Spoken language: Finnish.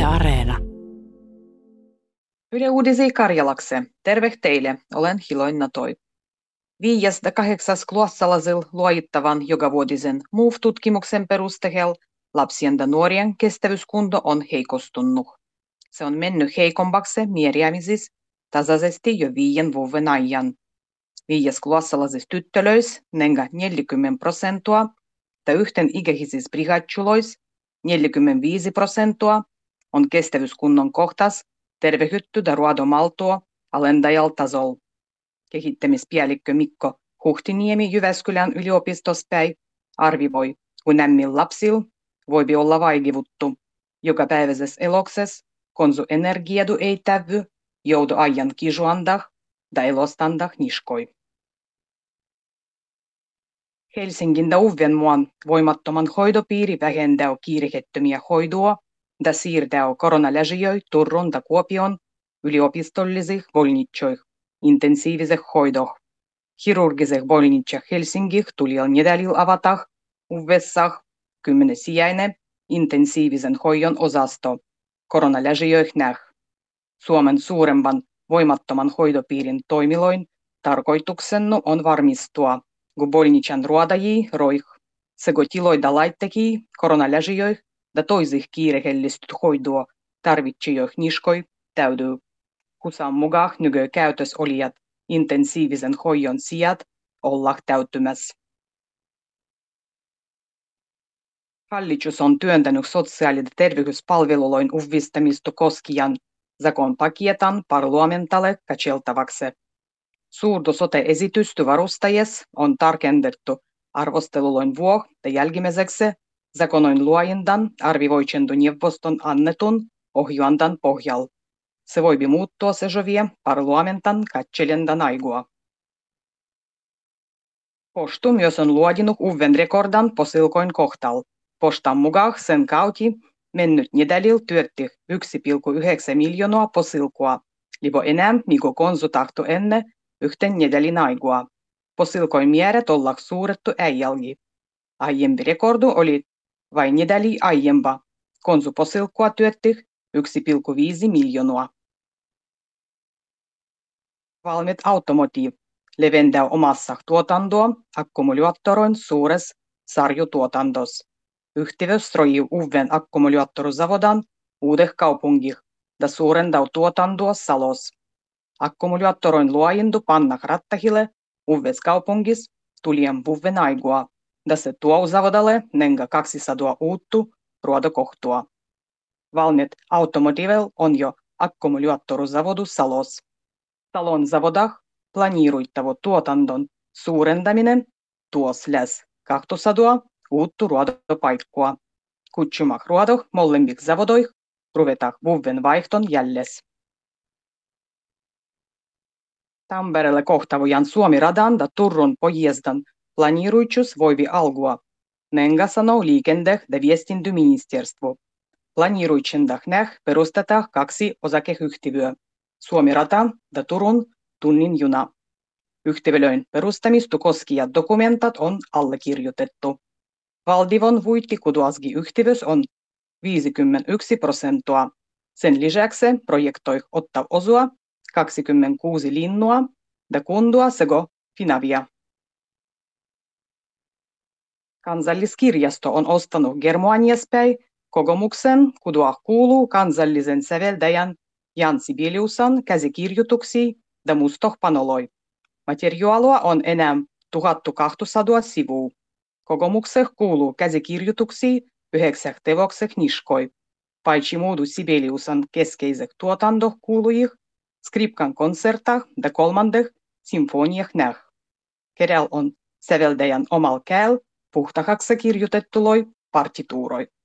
Areena. Yle Uudisi Karjalakse. Terve teille, olen Hiloina Toi. 5.8. klassalaisilla luojittavan jokavuotisen MOVE-tutkimuksen perusteella lapsien ja nuorien kestävyyskunto on heikostunut. Se on mennyt heikommaksi määräisissä tasaisesti jo 5 vuoden ajan. 5-klassalaisissa tyttölöissä nenga 40% ja yhten ikäisissä brigadjuloissa 45% on kestävyyskunnon kohtas tervehytty ja ruodomaltua alendajal tasol. Kehittämispäällikkö Mikko Huhtiniemi Jyväskylän yliopistossa arvivoi, kun nämmillä lapsilla voi olla vaivivuttu jokapäiväisessä eloksessa, konsu energiadu ei tävy, joudu ajan kisuandah ja elostandah niskoi. Helsingin ja Uudenmaan voimattoman hoitopiiri vähentää kiirehettömiä hoitoa ja siirtää koronaläsijöitä Turun ja Kuopion yliopistollisiin bolnitsoihin intensiiviseen hoitoon. Kirurgiseen bolnitsoihin Helsingin tuli nedälillä avata uudessaan 10-sijainen intensiivisen hoidon osasto koronaläsijöihin näh. Suomen suuremman voimattoman hoitopiirin toimiloin tarkoituksena on varmistua, kun bolnitsan ruodajia roih sekä tiloida laittekii koronaläsijöihin ja toisih kiirehellistyt hoitoa tarvitsijoih niskoi täytyy. Husan mukaan nykyään käytössä olijat intensiivisen hoidon sijat olla täyttymässä. Hallitus on työntänyt sosiaali- ja terveyspalvelujen uudistamista koskien zakon paketan parlamentalle katseltavaksi. Suurto sote-esitystä varustajes on tarkennettu arvostelujen vuoksi ja jälkimmäiseksi zakonoin luojendan arvivoitsentoneuvoston annetun ohjuandan pohjalla. Se voi muuttua sejovia parlamentan katselendan aigua. Postu myös on luodinut uuden rekordan posilkoin kohtalla. Postan mukaan sen kauti mennyt nedälillä työtti 1,9 miljoonaa posilkoa, libo enää mikä konsu tahto ennen yhten nedälin aigua. Posilkoin määrät olla suurettu äijälgi. Aiempi rekordu oli vain nedäli aiempa. Konsu posilkoa työtti 1,5 miljoonaa. Valmet Automotive leventää omassa tuotantoa akkumulaattorin suuressa sarjutuotantossa. Yhtiössä rojii uuden akkumulaattorizavodan uudeh kaupungih ja suurentaa tuotantoa Salos. Akkumulaattorin luojentu panna rattahille uudessa kaupungissa tulien vuoden aigua, ja se tuo zavodalle nenga 200 uuttu ruodokohtua. Valmet Automotivel on jo akkumulaattorizavodu Salos. Salon zavodah planiiruittava tuotanton suurendaminen tuos läs 200 uuttu ruodopaikkoa. Kutsumah ruodoh molemmik zavodoih ruvetah vuoden vaihton jälles. Tampereelle kohtavojan Suomi-radan ja Turun pojezdan planiiruitsus voivi algua. Nenga sanoo liikende- ja viestintäministeriö. Planiiruitsendah näh perustetaan 2 osakeyhtiöä. Suomi-rata ja Turun tunnin juna. Yhtiölöin perustamista koskijat dokumentat on allekirjoitettu. Valdivon vuittikuduasgi yhtiös on 51%. Sen lisäksi projektoi ottaa osua 26 linnua ja kundua sekä Finavia. Kansalliskirjasto on ostanut Germaniaspäin kokemuksen, kudua kuuluu kansallisen säveltäjän Jan Sibeliusan käsikirjoituksia ja mustohpanoloi. Materiaalua on enää 1200 sivua. Kokemukseen kuuluu käsikirjoituksia 9 teokseen niskoi. Paitsi muudu Sibeliusan keskeiset tuotantoh kuulujih, skripkan konsertah ja 3. symfoniah näh. Kirjalla on säveltäjän omal kääl puhtahaksi kirjoitettuloi partituuroi.